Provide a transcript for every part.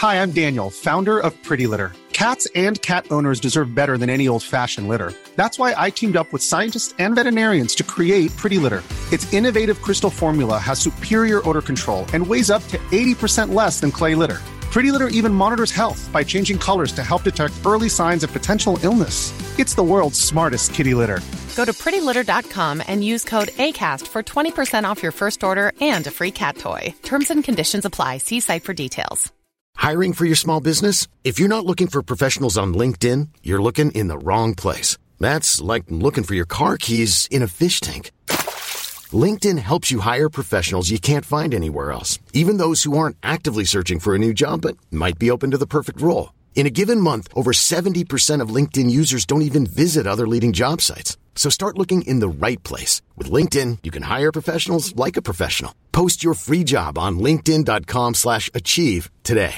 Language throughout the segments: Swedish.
Hi, I'm Daniel, founder of Pretty Litter. Cats and cat owners deserve better than any old-fashioned litter. That's why I teamed up with scientists and veterinarians to create Pretty Litter. Its innovative crystal formula has superior odor control and weighs up to 80% less than clay litter. Pretty Litter even monitors health by changing colors to help detect early signs of potential illness. It's the world's smartest kitty litter. Go to prettylitter.com and use code ACAST for 20% off your first order and a free cat toy. Terms and conditions apply. See site for details. Hiring for your small business? If you're not looking for professionals on LinkedIn, you're looking in the wrong place. That's like looking for your car keys in a fish tank. LinkedIn helps you hire professionals you can't find anywhere else, even those who aren't actively searching for a new job but might be open to the perfect role. In a given month, over 70% of LinkedIn users don't even visit other leading job sites. So start looking in the right place. With LinkedIn, you can hire professionals like a professional. Post your free job on linkedin.com/achieve today.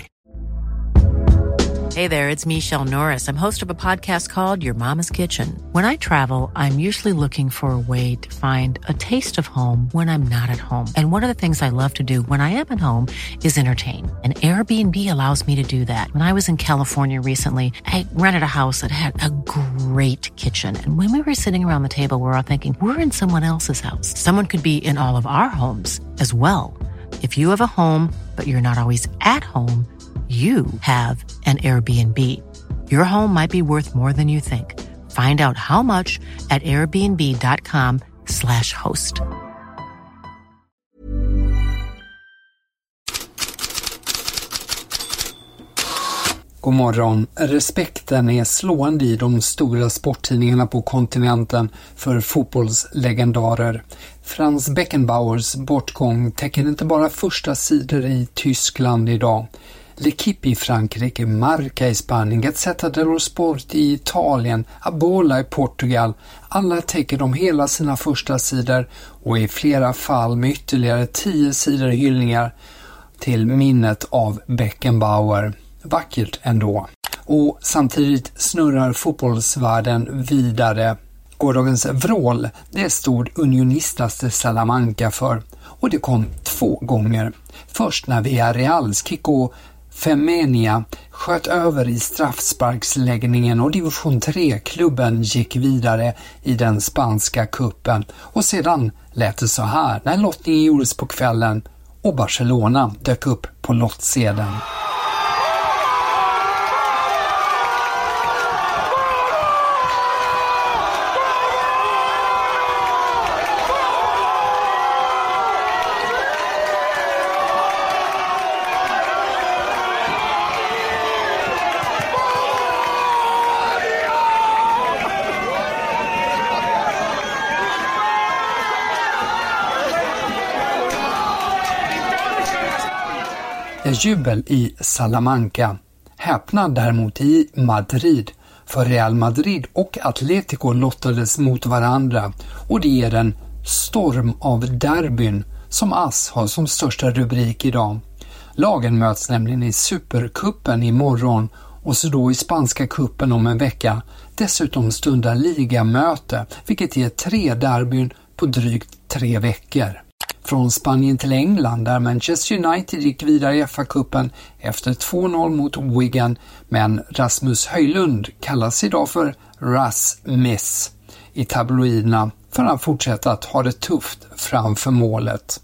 Hey there, it's Michelle Norris. I'm host of a podcast called Your Mama's Kitchen. When I travel, I'm usually looking for a way to find a taste of home when I'm not at home. And one of the things I love to do when I am at home is entertain. And Airbnb allows me to do that. When I was in California recently, I rented a house that had a great kitchen. And when we were sitting around the table, we were all thinking, we're in someone else's house. Someone could be in all of our homes as well. If you have a home, but you're not always at home, you have an Airbnb. Your home might be worth more than you think. Find out how much at airbnb.com/host. God morgon. Respekten är slående i de stora sporttidningarna på kontinenten för fotbollslegendarer. Franz Beckenbauers bortgång täcker inte bara första sidor i Tyskland idag. L'Equipe i Frankrike, Marca i Spanien, Gazzetta dello Sport i Italien, Abola i Portugal. Alla täcker de hela sina första sidor och i flera fall med ytterligare 10 sidor hyllningar till minnet av Beckenbauer. Vackert ändå. Och samtidigt snurrar fotbollsvärlden vidare. Gårdagens vrål, det stod Unionistas de Salamanca för. Och det kom 2 gånger. Först när Villarreals Kiko Femenia sköt över i straffsparksläggningen och division 3-klubben gick vidare i den spanska kuppen. Och sedan lät det så här när lottningen gjordes på kvällen och Barcelona dök upp på lottsedeln. Jubel i Salamanca. Häpnad däremot i Madrid. För Real Madrid och Atletico lottades mot varandra och det ger en storm av derbyn som AS har som största rubrik idag. Lagen möts nämligen i Supercupen imorgon och så då i spanska kuppen om en vecka. Dessutom stundar ligamöte vilket ger 3 derbyn på drygt 3 veckor. Från Spanien till England där Manchester United gick vidare i FA-cupen efter 2-0 mot Wigan, men Rasmus Højlund kallas idag för Rasmus i tabloiderna för att fortsätta att ha det tufft framför målet.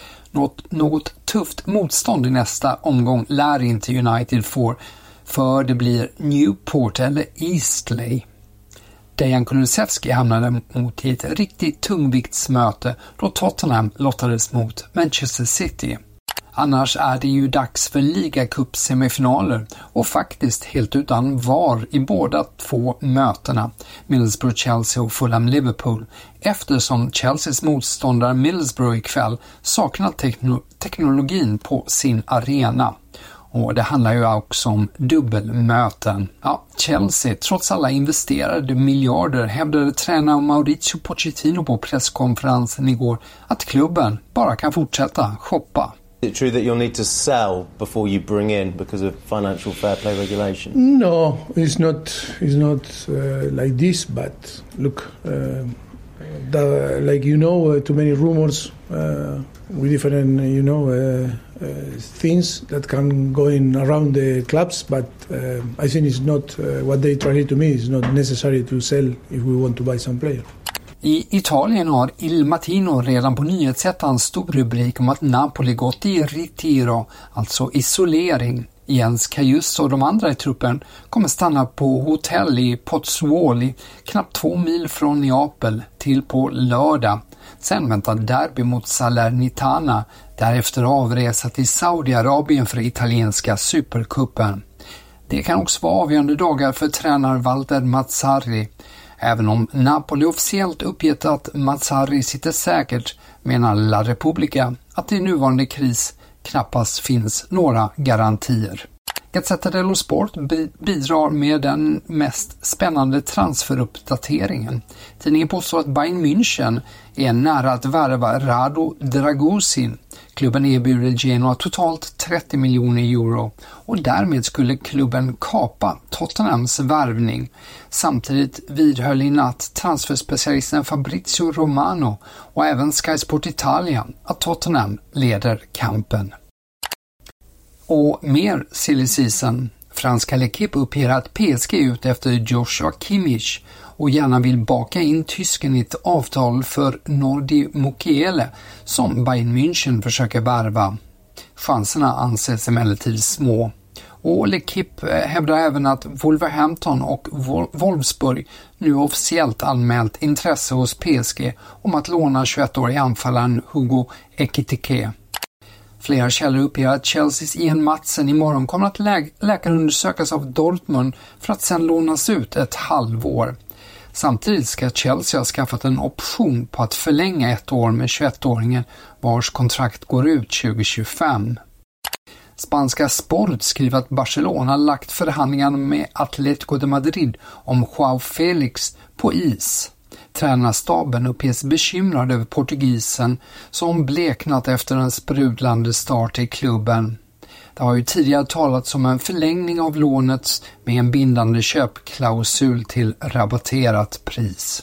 Något tufft motstånd i nästa omgång lär inte United få, för det blir Newport eller Eastleigh. Dejan Kulusevski hamnade mot ett riktigt tungviktsmöte då Tottenham lottades mot Manchester City. Annars är det ju dags för ligacup-semifinaler och faktiskt helt utan VAR i båda 2 mötena, Middlesbrough-Chelsea och Fulham-Liverpool, eftersom Chelseas motståndare Middlesbrough ikväll saknar teknologin på sin arena. Och det handlar ju också om dubbelmöten. Ja, Chelsea, trots alla investerade miljarder, hävdade tränare Mauricio Pochettino på presskonferensen igår att klubben bara kan fortsätta shoppa. Is it true that you'll need to sell before you bring in because of financial fair play regulation? No, it's not like this, but look, Too many rumors with different, things that can go in around the clubs. But I think it's not what they try to me. It's not necessary to sell if we want to buy some player. I Italien har Il Mattino redan på nyhetsättaren stor rubrik om att Napoli gått i ritiro, alltså isolering. Jens Kajus och de andra i truppen kommer stanna på hotell i Pozzuoli, knappt 2 mil från Neapel, till på lördag. Sen väntar derby mot Salernitana, därefter avresa till Saudiarabien för italienska supercupen. Det kan också vara avgörande dagar för tränare Walter Mazzarri. Även om Napoli officiellt uppgett att Mazzarri sitter säkert, menar La Repubblica att i nuvarande kris knappast finns några garantier. Gazzetta dello Sport bidrar med den mest spännande transferuppdateringen. Tidningen påstår att Bayern München är nära att värva Rado Dragusin. Klubben erbjuder Genoa totalt 30 miljoner euro och därmed skulle klubben kapa Tottenhams värvning. Samtidigt vidhöll i natt transferspecialisten Fabrizio Romano och även Sky Sport Italia att Tottenham leder kampen. Och mer silly season. Franska L'Equipe uppger att PSG är ute efter Joshua Kimmich och gärna vill baka in tysken i ett avtal för Nordi Mukiele som Bayern München försöker värva. Chanserna anses emellertid små. Och L'Equipe hävdar även att Wolverhampton och Wolfsburg nu officiellt anmält intresse hos PSG om att låna 21-årig anfallaren Hugo Ekitike. Flera källor uppger att Chelseas Ian Madsen imorgon kommer att läkarundersökas av Dortmund för att sedan lånas ut ett halvår. Samtidigt ska Chelsea ha skaffat en option på att förlänga ett år med 21-åringen vars kontrakt går ut 2025. Spanska Sport skriver att Barcelona lagt förhandlingarna med Atlético de Madrid om João Felix på is. Tränarstaben uppges bekymrad över portugisen som bleknat efter en sprudlande start i klubben. Det har ju tidigare talats om en förlängning av lånet med en bindande köpklausul till rabatterat pris.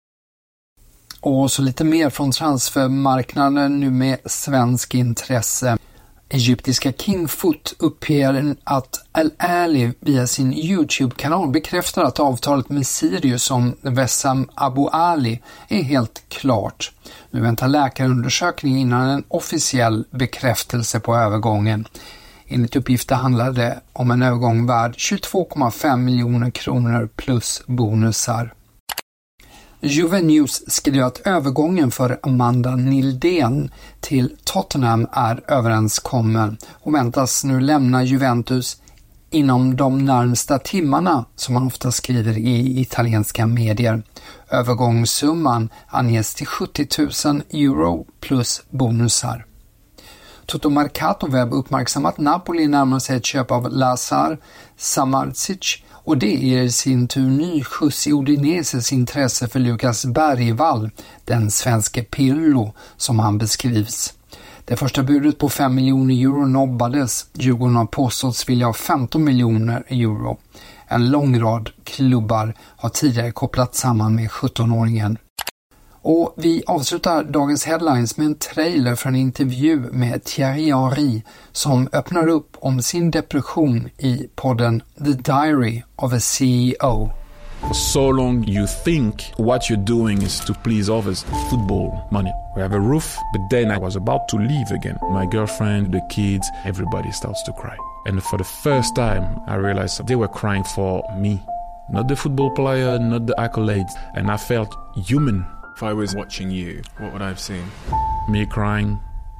Och så lite mer från transfermarknaden nu med svensk intresse. Egyptiska Kingfoot uppger att Al-Ali via sin YouTube-kanal bekräftar att avtalet med Sirius om Wessam Abu Ali är helt klart. Nu väntar läkarundersökning innan en officiell bekräftelse på övergången. Enligt uppgifter handlar det om en övergång värd 22,5 miljoner kronor plus bonusar. Juve News skriver att övergången för Amanda Nildén till Tottenham är överenskommen och väntas nu lämna Juventus inom de närmsta timmarna, som man ofta skriver i italienska medier. Övergångssumman anges till 70 000 euro plus bonusar. Toto Mercato Web uppmärksammat att Napoli närmar sig ett köp av Lazar Samardzic och det ger i sin tur ny skjuts i Udineses intresse för Lukas Bergvall, den svenske Pirlo som han beskrivs. Det första budet på 5 miljoner euro nobbades. Djurgården har påståtts vilja ha 15 miljoner euro. En lång rad klubbar har tidigare kopplat samman med 17-åringen. Och vi avslutar dagens headlines med en trailer för en intervju med Thierry Henry som öppnar upp om sin depression i podden The Diary of a CEO. For so long you think what you're doing is to please others. Football, money. We have a roof, but then I was about to leave again. My girlfriend, the kids, everybody starts to cry. And for the first time I realized they were crying for me. Not the football player, not the accolades. And I felt human. If I was watching you, what would I have seen? Me crying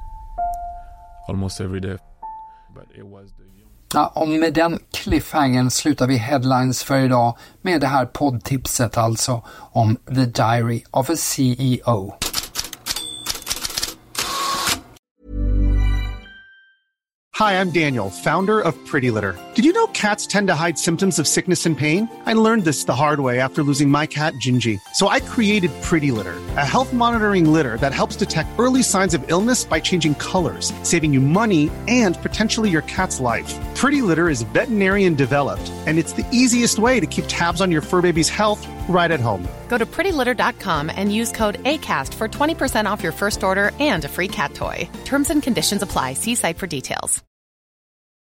almost every day. But it was the... Ja, och med den cliffhangern slutar vi headlines för idag med det här poddtipset alltså om The Diary of a CEO. Hi, I'm Daniel, founder of Pretty Litter. Did you know cats tend to hide symptoms of sickness and pain? I learned this the hard way after losing my cat, Gingy. So I created Pretty Litter, a health monitoring litter that helps detect early signs of illness by changing colors, saving you money and potentially your cat's life. Pretty Litter is veterinarian developed, and it's the easiest way to keep tabs on your fur baby's health right at home. Go to prettylitter.com and use code ACAST for 20% off your first order and a free cat toy. Terms and conditions apply. See site for details.